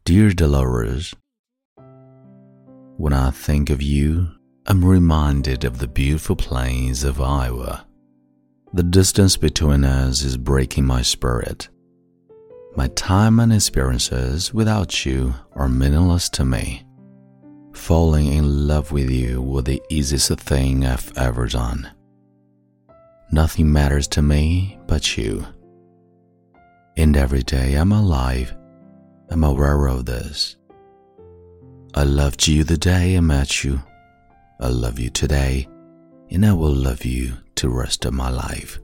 Dear Dolores, when I think of you, I'm reminded of the beautiful plains of Iowa. The distance between us is breaking my spirit. My time and experiences without you are meaningless to me. Falling in love with you was the easiest thing I've ever done. Nothing matters to me but you. And every day I'm alive, I'm aware of this. I loved you the day I met you. I love you today, and I will love you the rest of my life.